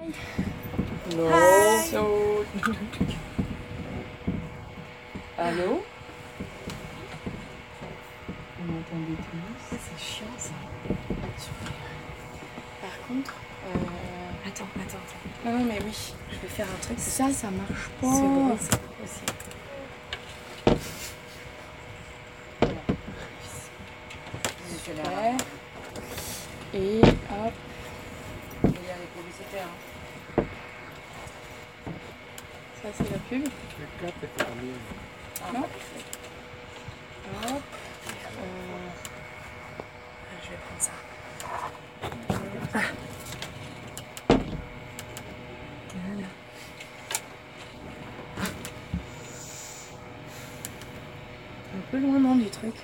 No. Hi. So. Allô? Vous m'entendez tous? C'est chiant ça. Super. Par contre, Attends. non, mais oui. Je vais faire un truc. Ça marche pas. Ce bruit, c'est pas possible. Super. Et hop. Il y a les publicités. Hein. Ça, c'est la pub. Non. Hop. Je vais prendre ça. Voilà. Un peu loin non du truc.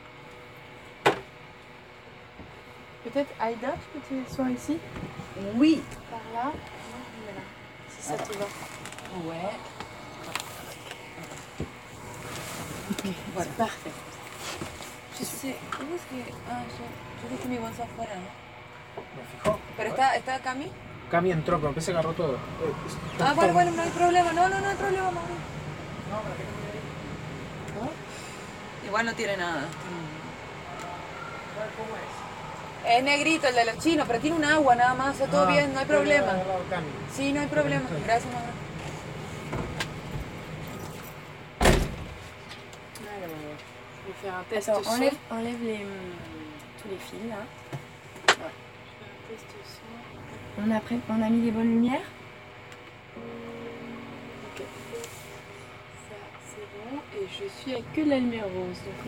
Peut-être Aïda, tu peux t'asseoir ici? Oui. Par là? Non, mais là. Si ça te va. Ouais. Voilà. C'est parfait. Yo sé, ¿cómo es que...? Ah, yo dejé mi bolsa afuera, ¿no? Me fijó. ¿Pero está Cami? Cami entró, pero se agarró todo. Ah, bueno, no hay problema. No hay problema, Mauri. Igual no tiene nada. Es negrito el de los chinos, pero tiene un agua nada más, está todo bien, no hay problema. Sí, no hay problema. Gracias, Mauri. Je vais faire un test Attends, son. enlève tous les fils là. Ouais. Je vais faire un test son. On a mis les bonnes lumières. Ok. Ça, c'est bon. Et je suis avec que de la lumière rose, donc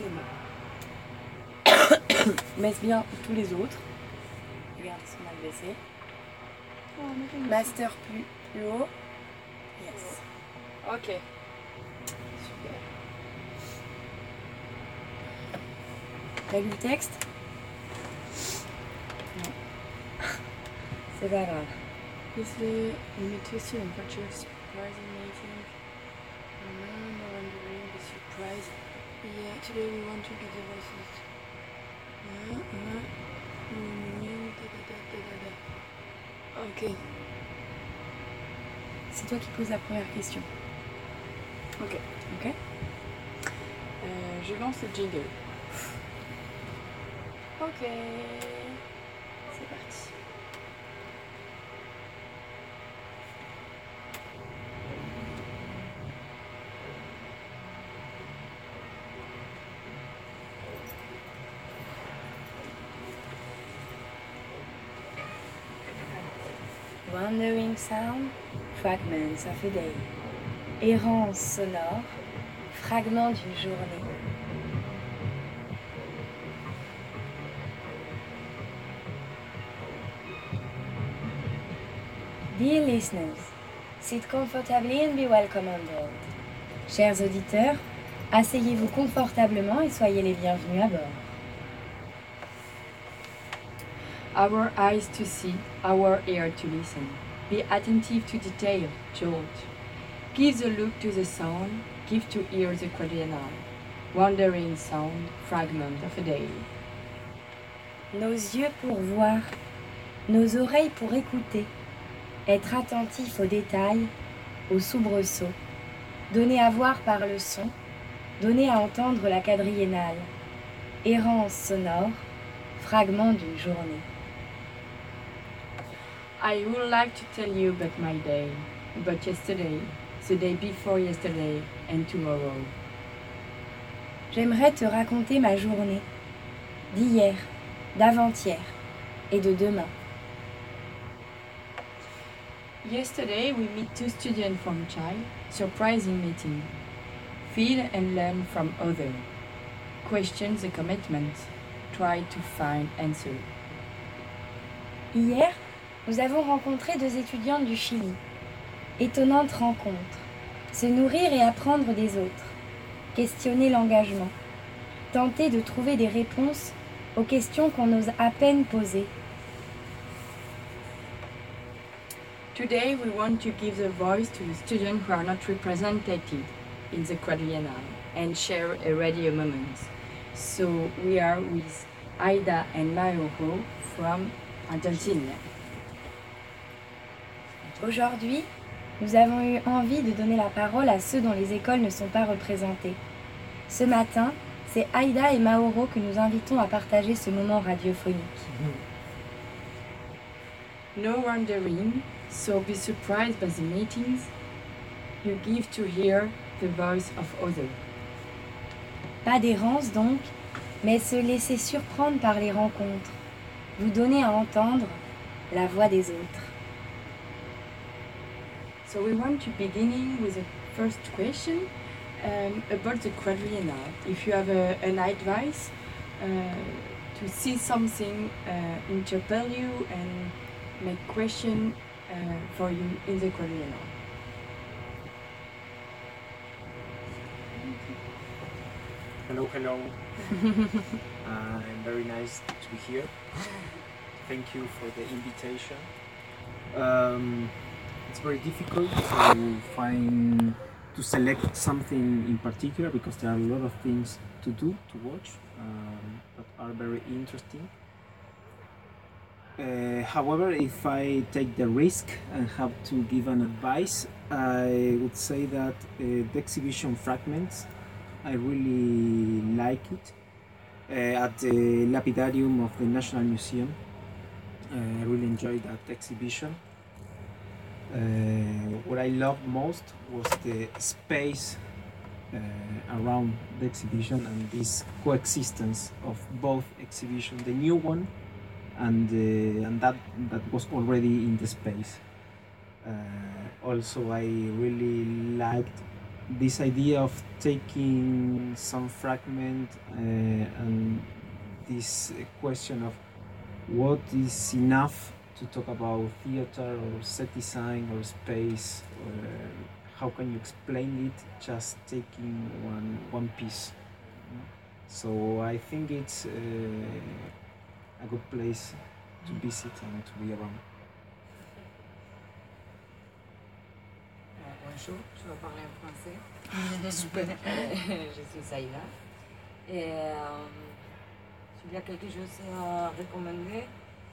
les mains. Baisse bien tous les autres. Regarde, ils sont mal baissés. Master plus haut. Yes. Ok. Super. T'as lu le texte? Non. C'est pas grave. Yesterday, we met Twisty and Butcher surprising meeting. No wondering the surprise. Yeah, today we want to give the voices. Ok. C'est toi qui poses la première question. Ok. Ok? Je lance le jingle. Ok. C'est parti. Wandering sound, fragments of a day. Errance sonore, fragments d'une journée. Dear listeners, sit comfortably and be welcome on board. Chers auditeurs, asseyez-vous confortablement et soyez les bienvenus à bord. Our eyes to see, our ear to listen. Be attentive to detail, George. Give the look to the sound, give to ear the quadriennal. Wandering sound, fragment of a day. Nos yeux pour voir, nos oreilles pour écouter. Être attentif aux détails, aux soubresauts. Donner à voir par le son, donner à entendre la quadriennale. Errance sonore, fragment d'une journée. I would like to tell you about my day, about yesterday, the day before yesterday, and tomorrow. J'aimerais te raconter ma journée, d'hier, d'avant-hier et de demain. Yesterday we meet two students from Chile, surprising meeting. Feel and learn from other. Question the commitment. Try to find answer. Hier, nous avons rencontré deux étudiantes du Chili. Étonnante rencontre. Se nourrir et apprendre des autres. Questionner l'engagement. Tenter de trouver des réponses aux questions qu'on ose à peine poser. Today we want to give the voice to the students who are not represented in the quadriennal and share a radio moment. So we are with Aida and Mauro from Argentina. Aujourd'hui, nous avons eu envie de donner la parole à ceux dont les écoles ne sont pas représentées. Ce matin, c'est Aïda et Mauro que nous invitons à partager ce moment radiophonique. No wondering, so be surprised by the meetings you give to hear the voice of others. Pas d'errance donc, mais se laisser surprendre par les rencontres, vous donner à entendre la voix des autres. So we want to beginning with the first question about the quadriennal. If you have an advice to see something interpel you and make question for you in the quadriennal. Hello. Very nice to be here. Thank you for the invitation. It's very difficult to select something in particular because there are a lot of things to do, to watch, that are very interesting. However, if I take the risk and have to give an advice, I would say that the exhibition Fragments, I really like it. At the Lapidarium of the National Museum, I really enjoyed that exhibition. What I loved most was the space around the exhibition and this coexistence of both exhibitions, the new one and that was already in the space. Also, I really liked this idea of taking some fragment and this question of what is enough to talk about theater or set design or space, how can you explain it just taking one piece. So I think it's a good place to visit and to be around. Bonjour, je vais parler en français. Super. Je suis Aïda. Et s'il y a quelque chose à recommander,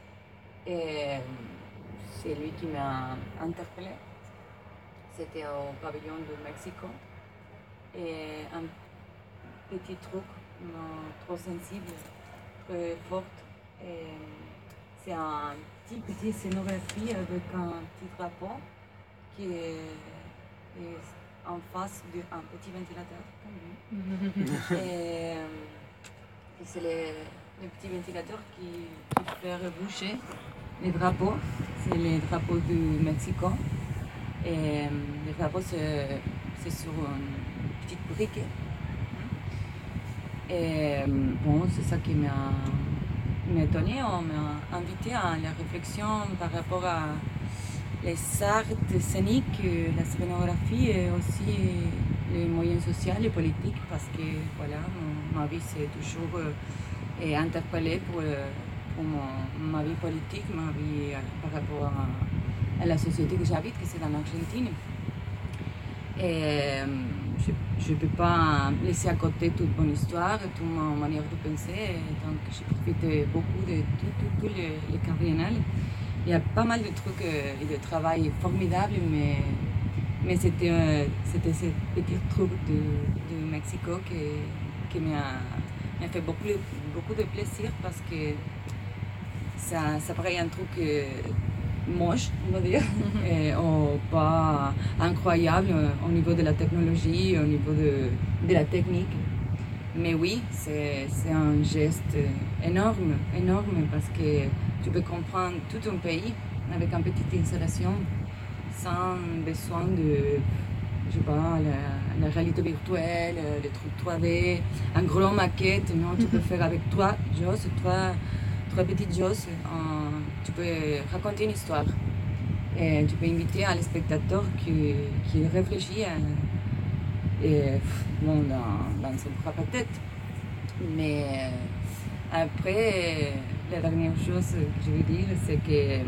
c'est lui qui m'a interpellé. C'était au pavillon de Mexico. Et un petit truc trop sensible, très fort. C'est un petit scénographie avec un petit drapeau qui est en face d'un petit ventilateur comme lui. Et c'est le petit ventilateur qui fait bouger les drapeaux. C'est les drapeaux du Mexique. Et le drapeau, c'est sur une petite brique. Et bon, c'est ça qui m'a étonné. On m'a invité à la réflexion par rapport à les arts scéniques, la scénographie et aussi les moyens sociaux et politiques, parce que voilà, ma vie s'est toujours interpellée pour ma vie politique, ma vie par rapport à la société que j'habite, que c'est en Argentine. Et je ne peux pas laisser à côté toute mon histoire, toute ma manière de penser, donc j'ai profité beaucoup de tous les quadriennales. Il y a pas mal de trucs et de travail formidables, mais c'était ce petit truc de Mexico qui m'a fait beaucoup de plaisir, parce que ça paraît un truc moche, on va dire, ou pas incroyable au niveau de la technologie, au niveau de la technique. Mais oui, c'est un geste énorme, parce que tu peux comprendre tout un pays avec une petite installation sans besoin de, je sais pas, la réalité virtuelle, les trucs 3D, un gros maquette. Non, tu peux faire avec trois petites choses, tu peux raconter une histoire. Et tu peux inviter le spectateur qui réfléchit dans son propre tête. Mais après, la dernière chose que je veux dire, c'est que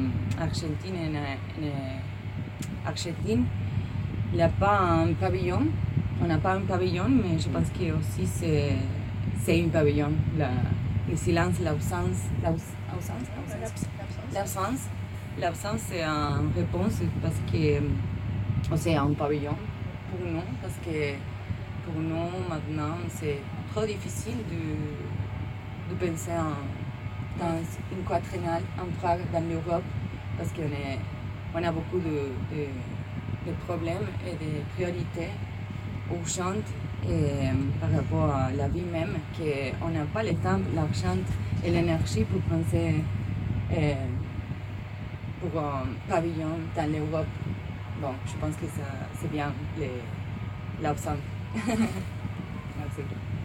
Argentine, il n'y a pas un pavillon. On n'a pas un pavillon, mais je pense que aussi c'est un pavillon. Le silence, l'absence L'absence, c'est une réponse parce que c'est un pavillon pour nous, parce que pour nous, maintenant, c'est trop difficile de penser dans une quadriennale en Prague, dans l'Europe, parce qu'on a beaucoup de problèmes et de priorités urgentes par rapport à la vie même, qu'on n'a pas le temps, l'argent et l'énergie pour penser pour un pavillon dans l'Europe. Bon, je pense que c'est bien l'absence. Merci.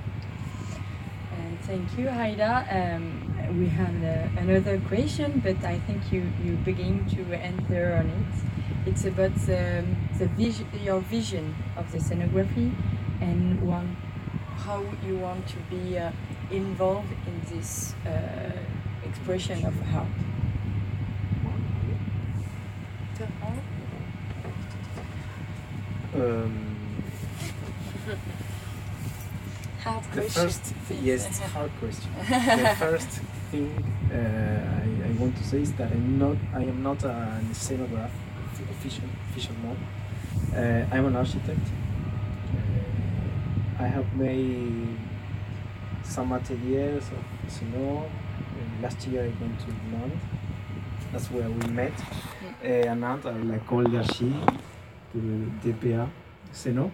Thank you, Haida. We have another question, but I think you begin to answer on it. It's about your vision of the scenography and how you want to be involved in this expression of art. Hard The question. first, yes, it's a hard question. The first thing I want to say is that I am not an scenograph, official mode. I'm an architect. I have made some ateliers of Seno. Last year I went to Nantes. That's where we met. À Nantes, à l'école d'archi de DPA Seno.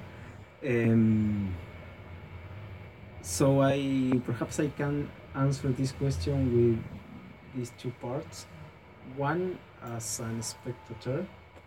So perhaps I can answer this question with these two parts. One, as a spectator,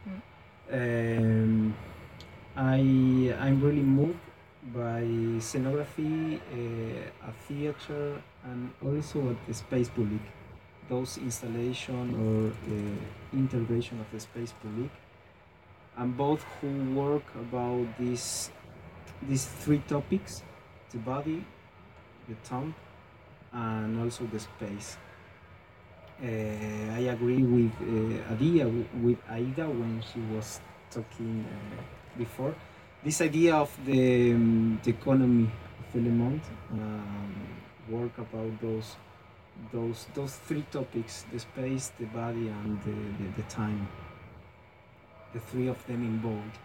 I'm really moved by scenography, a theater, and also at the space public. Those installation or intervention of the space public, and both who work about these three topics: the body, the tomb, and also the space. I agree with Aida when she was talking before. This idea of the economy of Le Monde, work about those three topics: the space, the body, and the time. The three of them involved.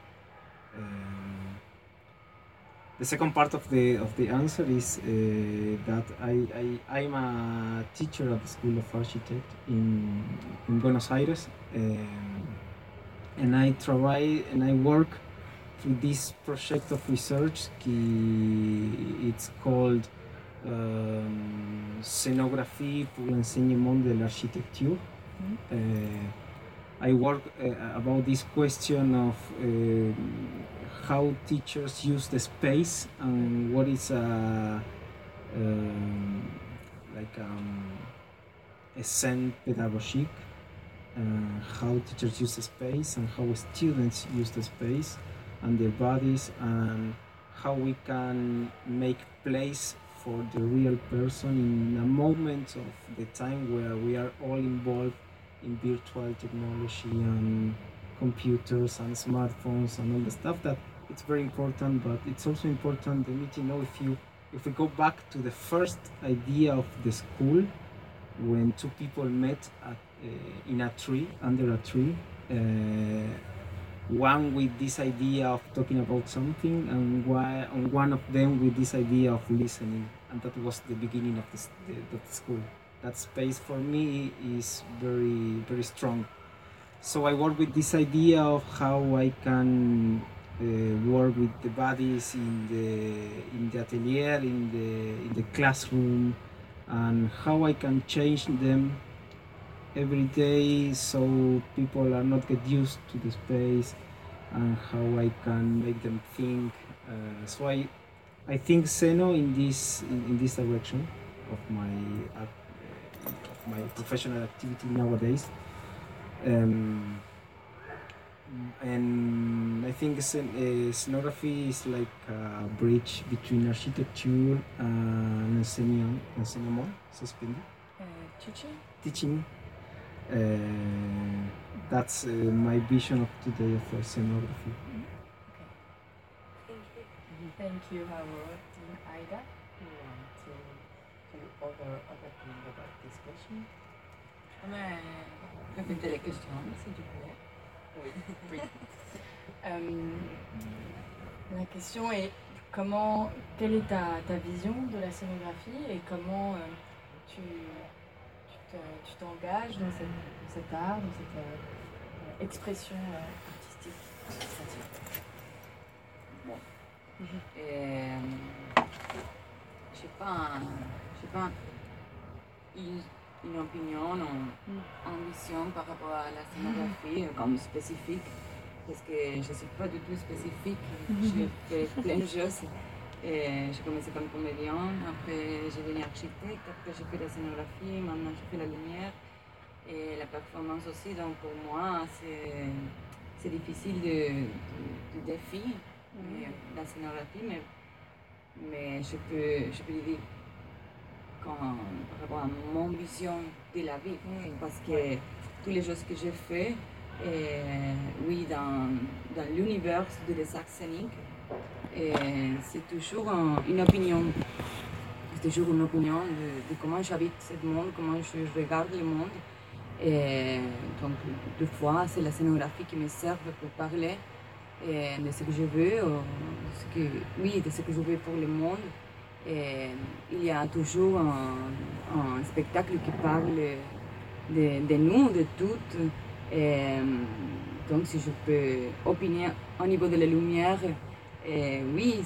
The second part of the answer is that I'm a teacher at the School of Architecture in Buenos Aires, and I work through this project of research. It's called Scénographie pour l'enseignement de l'architecture. I work about this question of how teachers use the space and what is a scène pédagogique, how teachers use the space and how students use the space and their bodies, and how we can make place for the real person in a moment of the time where we are all involved in virtual technology and computers and smartphones and all the stuff. That it's very important, but it's also important to me to know if we go back to the first idea of the school, when two people met in a tree, under a tree, one with this idea of talking about something, and one of them with this idea of listening, and that was the beginning of the school. That space for me is very, very strong. So I work with this idea of how I can work with the bodies in the atelier, in the classroom, and how I can change them every day so people are not get used to the space, and how I can make them think. So I think Seno in this direction of my professional activity nowadays. And I think scenography is like a bridge between architecture and enseignement, teaching. That's my vision of today of scenography. Thank you, Howard and Aida. You want to do other thing about this question? Mais répétez les questions, s'il te plaît. Oui. Oui. La question est quelle est ta vision de la scénographie et comment tu t'engages dans cet art, dans cette expression artistique créative. Bon. Je n'ai pas une opinion ou une vision par rapport à la scénographie comme spécifique, parce que je ne suis pas du tout spécifique. J'ai fait plein de choses. J'ai commencé comme comédienne, après j'ai devenu architecte, après j'ai fait la scénographie, maintenant je fais la lumière et la performance aussi. Donc pour moi, c'est difficile de défi la scénographie, mais je peux le dire par rapport à mon vision de la vie, parce que toutes les choses que j'ai fait, oui, dans l'univers de les arts scéniques, c'est toujours une opinion. C'est toujours une opinion de comment j'habite ce monde, comment je regarde le monde. Et donc, des fois, c'est la scénographie qui me sert pour parler de ce que je veux, de ce que je veux pour le monde. Et il y a toujours un spectacle qui parle de nous, de toutes. Et donc, si je peux opiner au niveau de la lumière, oui,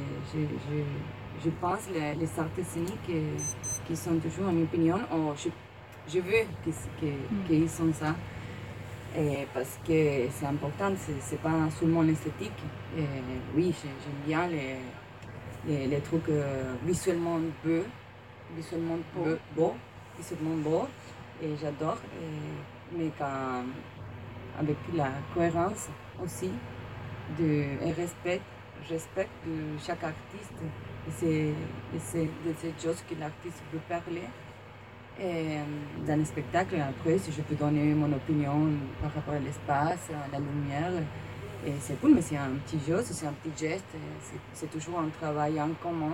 je pense les arts scéniques qui sont toujours une opinion. Je veux qu'ils sont ça. Parce que c'est important, c'est pas seulement l'esthétique. Oui, j'aime bien les trucs visuellement beaux, visuellement beaux, et j'adore. Mais avec la cohérence aussi, et respect de chaque artiste, et c'est de ces choses que l'artiste peut parler. Et dans le spectacle, après, si je peux donner mon opinion par rapport à l'espace, à la lumière, et c'est cool, mais c'est un petit jeu, c'est un petit geste, c'est toujours un travail en commun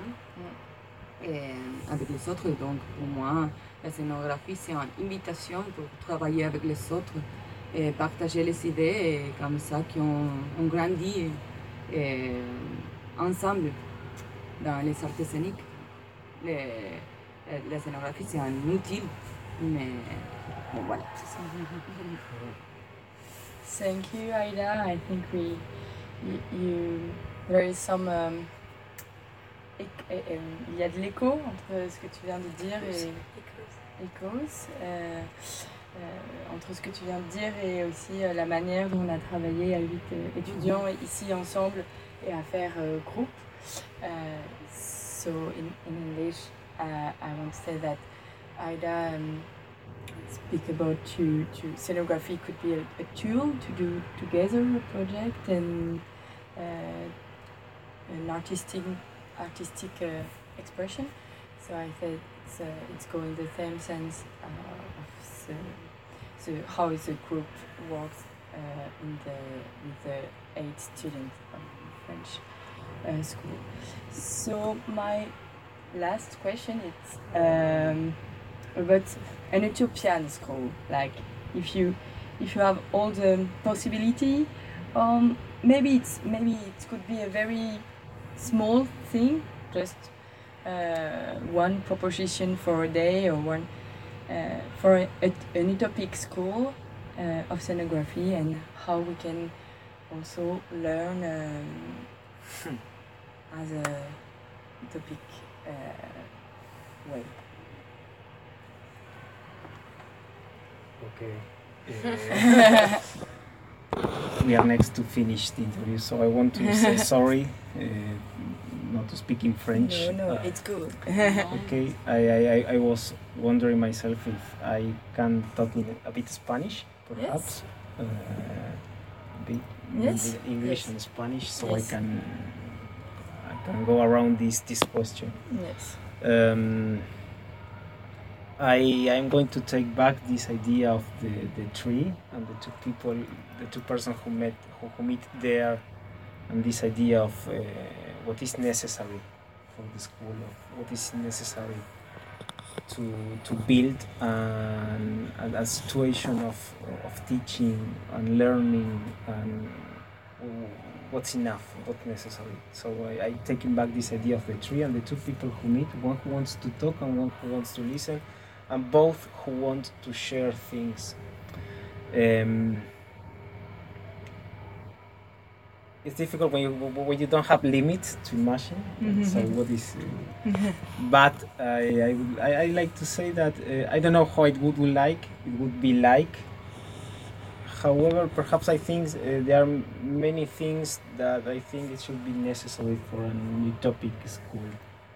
avec les autres. Donc pour moi, la scénographie, c'est une invitation pour travailler avec les autres et partager les idées, et comme ça qu'on grandit ensemble dans les arts scéniques. La scénographie, c'est un outil, mais bon, voilà. Thank you, Aida. I think there is some il y a de l'écho entre ce que tu viens de dire et entre ce que tu viens de dire et aussi la manière dont on a travaillé à 8 étudiants ici ensemble et à faire groupe. So in English, I want to say that Aida speak about to scenography could be a tool to do together a project and an artistic expression. So I think it's going the same sense of how the group works with the 8 students of French school. So my last question is about an utopian school. Like if you have all the possibility, maybe it could be a very small thing, just one proposition for a day or one for an utopic school of scenography, and how we can also learn as a utopic way. Okay. We are next to finish the interview, so I want to say sorry not to speak in French. No, it's good. Okay, I was wondering myself if I can talk in a bit Spanish, perhaps. Yes. A bit Yes. English Yes. and Spanish, so Yes. I can go around this question. Yes. I'm going to take back this idea of the tree and the two persons who meet there, and this idea of what is necessary for the school, of what is necessary to build a situation of teaching and learning and what's enough, what's necessary. So I taking back this idea of the tree and the two people who meet, one who wants to talk and one who wants to listen, and both who want to share things. It's difficult when you don't have limits to imagine. So what is? But I like to say that I don't know how it would be like. However, perhaps I think there are many things that I think it should be necessary for an utopic school.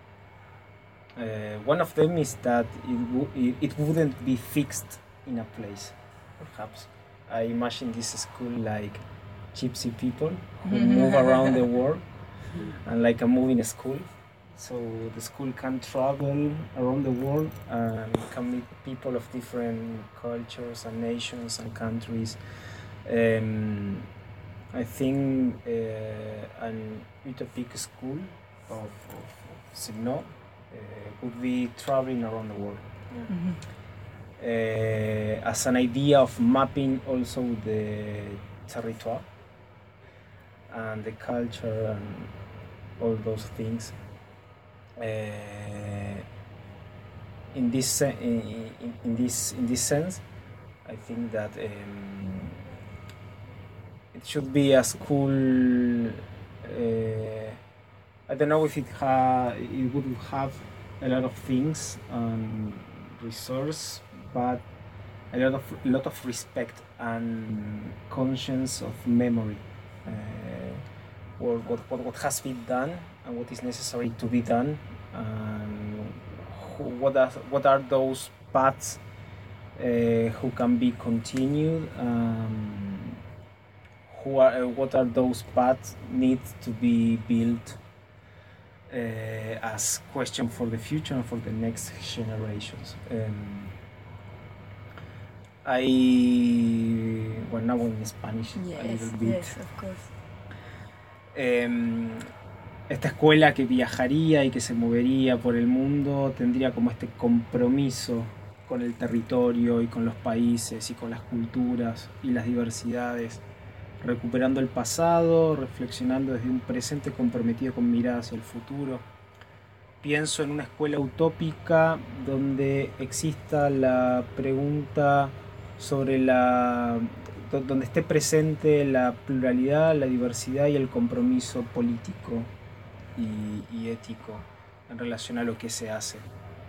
One of them is that it wouldn't be fixed in a place. Perhaps I imagine this school like gypsy people who move around the world, and like a moving school. So the school can travel around the world and can meet people of different cultures and nations and countries. I think an utopic school of Signo would be traveling around the world. As an idea of mapping also the territoire and the culture and all those things. In this sense, I think that it should be a school. I don't know if it would have a lot of things and resource, but a lot of respect and conscience of memory. Or what has been done and what is necessary to be done, and what are those paths who can be continued, what are those paths need to be built as question for the future and for the next generations. Now in Spanish a little bit. Yes, of course. Esta escuela que viajaría y que se movería por el mundo tendría como este compromiso con el territorio y con los países y con las culturas y las diversidades, recuperando el pasado, reflexionando desde un presente comprometido con mirada hacia el futuro. Pienso en una escuela utópica donde exista la pregunta sobre donde esté presente la pluralidad, la diversidad y el compromiso político y ético en relación a lo que se hace.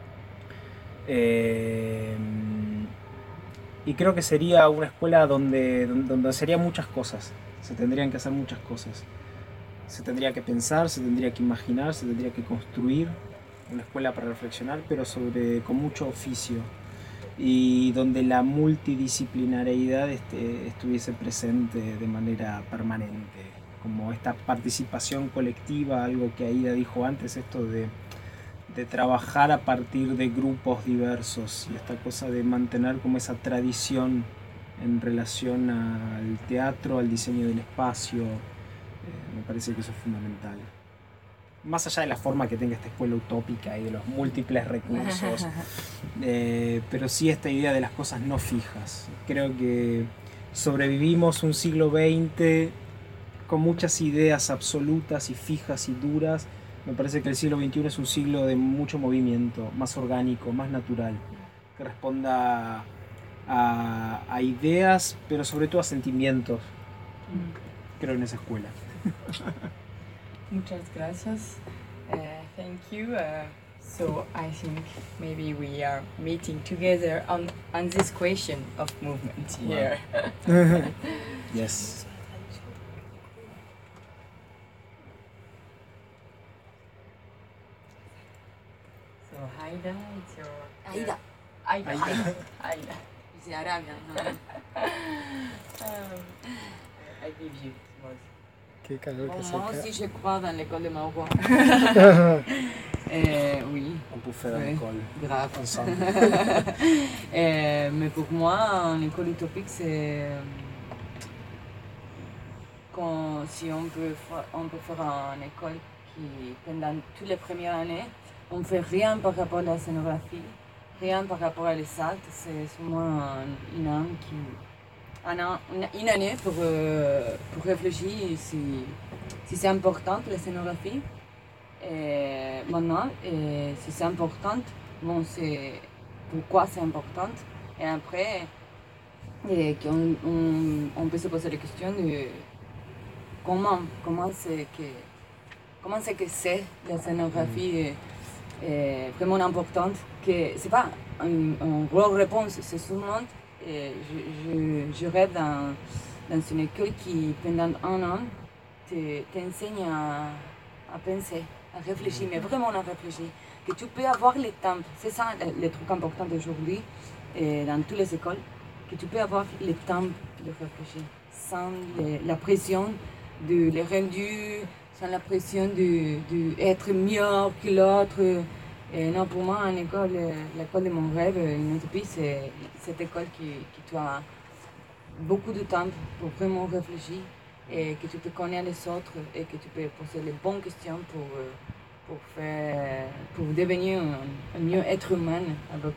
Y creo que sería una escuela donde serían muchas cosas, se tendrían que hacer muchas cosas. Se tendría que pensar, se tendría que imaginar, se tendría que construir una escuela para reflexionar, pero con mucho oficio. Y donde la multidisciplinariedad estuviese presente de manera permanente, como esta participación colectiva, algo que Aida dijo antes, esto de trabajar a partir de grupos diversos y esta cosa de mantener como esa tradición en relación al teatro, al diseño del espacio, me parece que eso es fundamental. Más allá de la forma que tenga esta escuela utópica y de los múltiples recursos, pero sí esta idea de las cosas no fijas. Creo que sobrevivimos un siglo XX con muchas ideas absolutas y fijas y duras. Me parece que el siglo XXI es un siglo de mucho movimiento, más orgánico, más natural, que responda a ideas, pero sobre todo a sentimientos. Creo en esa escuela. Muchas gracias. Thank you. So I think maybe we are meeting together on this question of movement here. Yes. So Aida, it's your... Aida. Aida. C'est arabe. I give you more. Moi aussi, je crois dans l'école de Maroc. Oui. On peut faire l'école grave. ensemble. Mais pour moi, une école utopique, c'est si on peut faire une école qui, pendant toutes les premières années, on ne fait rien par rapport à la scénographie. rien par rapport à les actes, c'est seulement une année pour réfléchir si c'est important la scénographie. Et maintenant, si c'est important, bon, c'est pourquoi c'est important. Et après, on peut se poser la question de comment c'est que c'est la scénographie est vraiment importante. Que c'est pas une grosse réponse, c'est seulement je rêve dans une école qui pendant un an t'enseigne à penser, à réfléchir, mais vraiment à réfléchir. Que tu peux avoir le temps, c'est ça le truc important d'aujourd'hui dans toutes les écoles, que tu peux avoir le temps de réfléchir sans la pression de les rendus, sans la pression d'être mieux que l'autre. Et non, pour moi, l'école de mon rêve, une utopie, c'est cette école qui tu as beaucoup de temps pour vraiment réfléchir et que tu peux connaître les autres et que tu peux poser les bonnes questions pour devenir un mieux être humain avec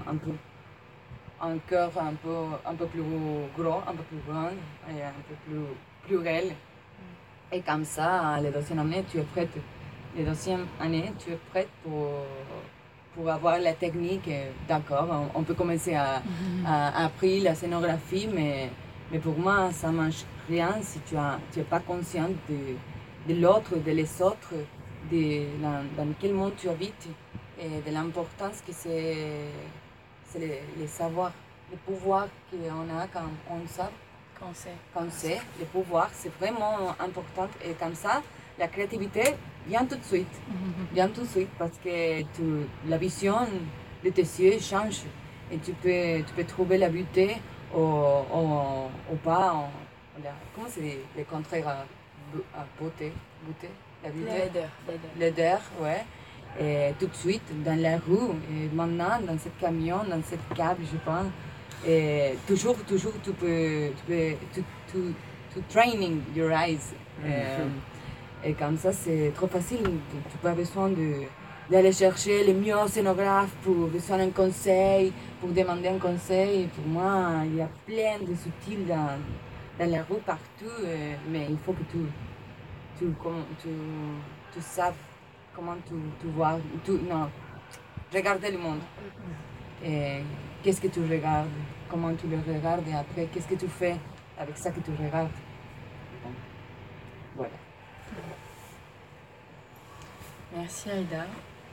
un cœur un peu plus gros, un peu plus grand et un peu plus pluriel. Et comme ça, la deuxième année, tu es prête. La deuxième année, tu es prête pour avoir la technique. D'accord, on peut commencer à apprendre la scénographie, mais pour moi, ça ne marche rien si tu n'es pas conscient de l'autre, de les autres, dans quel monde tu habites et de l'importance que c'est les savoirs, le pouvoir qu'on a quand on sait. Quand c'est, le pouvoir, c'est vraiment important. Et comme ça, la créativité vient tout de suite. Vient tout de suite parce que la vision de tes yeux change. Et tu peux trouver la beauté ou pas. Comment c'est le contraire à beauté? La beauté? Laideur, ouais. Et tout de suite, dans la rue, et maintenant, dans ce camion, dans cette câble, je pense. Et toujours, tu peux training your eyes. Et comme ça, c'est trop facile. Tu n'as pas besoin d'aller chercher les meilleurs scénographes pour besoin d'un conseil, pour demander un conseil. Pour moi, il y a plein de subtils dans la rue, partout. Mais il faut que tu saches comment tu vois. Regarder le monde. Et qu'est-ce que tu regardes, comment tu le regardes et après qu'est-ce que tu fais avec ça que tu regardes. Bon. Voilà. Merci Aïda.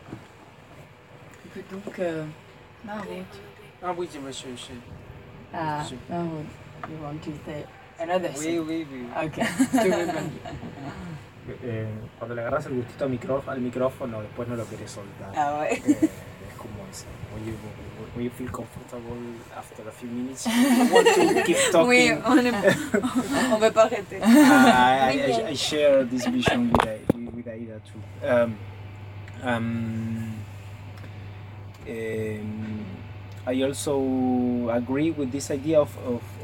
Donc, Mahmoud. Ah oui, monsieur. Mahmoud, you want to say another thing? Oui. Okay, to remember. Cuando le agarras el gustito al micrófono, después no lo querés soltar. Ah ouais. Es como eso. When you feel comfortable after a few minutes, you want to keep talking. Oui, on veut pas arrêter. I share this vision with Aida too. I also agree with this idea of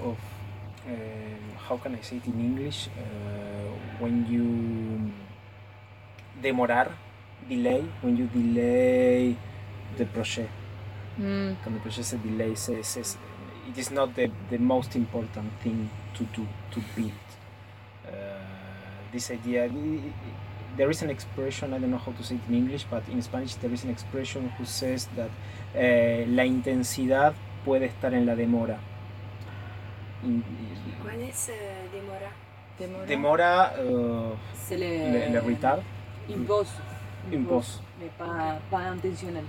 how can I say it in English? When you delay the project. Quand le projet se delay, it is not the most important thing to do, to build. This idea, there is an expression, I don't know how to say it in English, but in Spanish there is an expression who says that la intensidad puede estar en la demora. ¿Cuál es demora? Demora, c'est le retard. Impose. Mais pas intentionnel.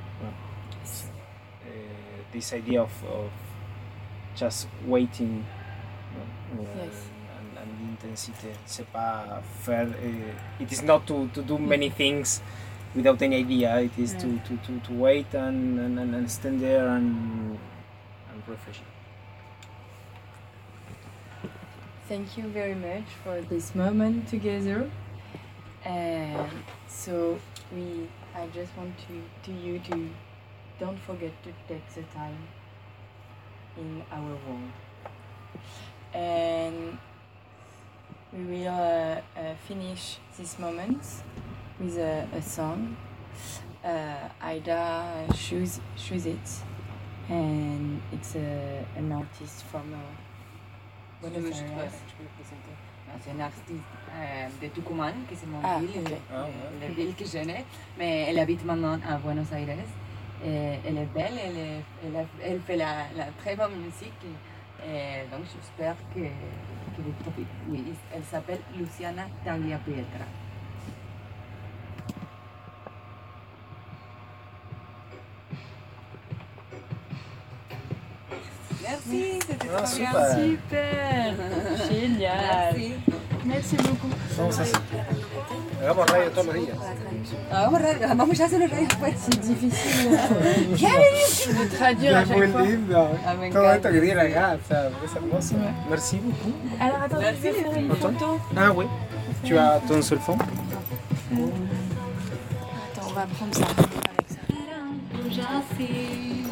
This idea of just waiting Yes. and intensity, c'est pas faire. It is not to do many things without any idea. It is to wait and stand there and refresh. Thank you very much for this moment together. And so I just want you to don't forget to take the time in our world. And we will finish this moment with a song. Ida choose it, and it's an artist from Buenos Aires. Je peux le présenter. C'est un artiste de Tucumán, qui c'est mon ville, ok. la ville que je connais, mais elle habite maintenant à Buenos Aires. Et elle est belle, elle fait la très bonne musique, et donc j'espère que vous profitez. Oui, elle s'appelle Luciana Tagliapietra. Merci, c'était trop bien. Super, génial. Merci. Merci beaucoup. Vamos a hacer. Hagamos radio todos los días. Vamos a hacer los rayos después. C'est difficile de traduire à Es muy chaque fois. lindo. Ah, me Todo esto encanta. que tiene acá, o sea, es hermoso. Ouais. Merci beaucoup. Alors attends, je vais faire une photo. Ah oui. Tu as ton seul fond? Attends, on va prendre ça avec ça.